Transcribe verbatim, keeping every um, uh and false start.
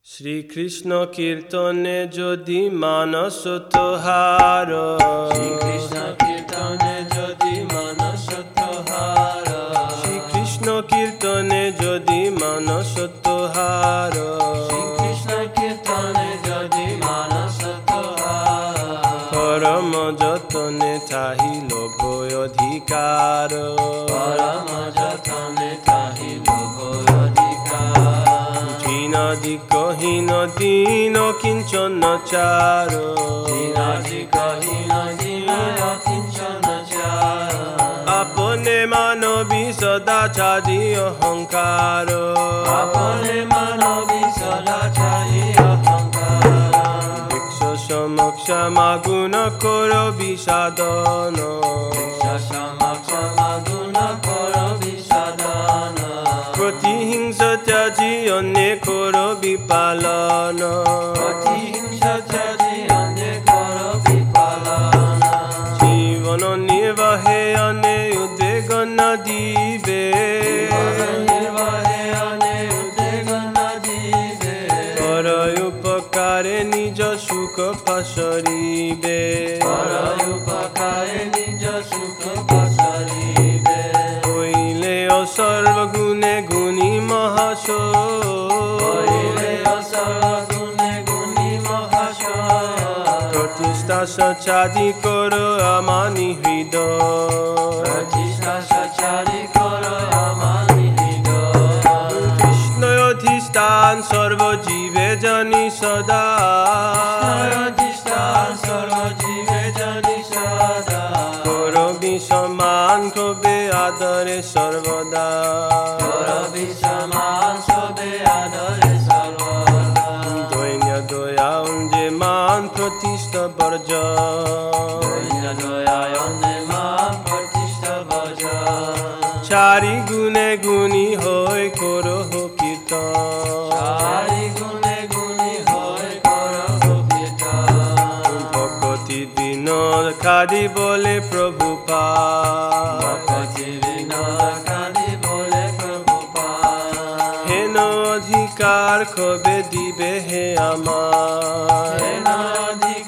শ্রীকৃষ্ণ কীর্তনে যদি মানস তোহার, শ্রীকৃষ্ণ কীর্তনে যদি মানস তোহার, শ্রীকৃষ্ণ কীর্তনে যদি মানস তোহার, শ্রীকৃষ্ণ কীর্তনে যদি মানস তোহার, পরম যতনে থাকিল ভয় অধিকার, পরম যতনে থাকিল ভয় অধিকার, দীনদিকহীন দীন কিঞ্চন চার, দীনাদিকহীন দীন কিঞ্চন চার, আপনে মানবী সদা ছাড়ি অহংকার, আপনে মানবী সদাচারী অহংকার, ভিক্ষ সমক্ষ মাগুণ কর বিষাদন, সমক্ষমাগুণ কর বিষাদন, প্রতিহিংস ত্যাজি অন্যে কর বিপালন, প্রতিহিংসা ত্যাজি অন্যে কর বিপালন, জীবন নির্বাহে অনে উদ্বেগ ন দিবে, নির্বাহে অনে উদ্বেগ ন দিবে, পর উপকারে নিজ সুখ পাশরিবে, পর উপকারে নিজ সুখ পসরিবে, হইলে অসর্বগুণে গুণী মহাশয়, হইলে অসর্বগুণে গুণী মহাশয়, প্রতিষ্ঠা সচাদি কর আমানি হৃদয়, প্রতিষ্ঠা সচারি কর আমানি হৃদয়, কৃষ্ণ অধিষ্ঠান সর্বজীবে জানি সদা, অধিষ্ঠান সর্বজীবে জানি সদা, করবি সমান কবে আদরে সর্বদা, করবি সমান সবে আদরে সর্বদা, দৈন্য দয়া যে মান প্রতিষ্ঠা বর্জ, দৈন্য দয়ায় অন্যে মান প্রতিষ্ঠা বজ, চারি গুণে গুণী হয়ে করহ কীর্তন, চারি গুণে গুণী হয়ে করহ কীর্তন, ভকতি দিন খাদি বলে প্রভু পা, ভকতি বিনোদ কাঁদি বলে প্রভুপাদ, হেন অধিকার কবে দিবে হে আমার, হেন অধিকার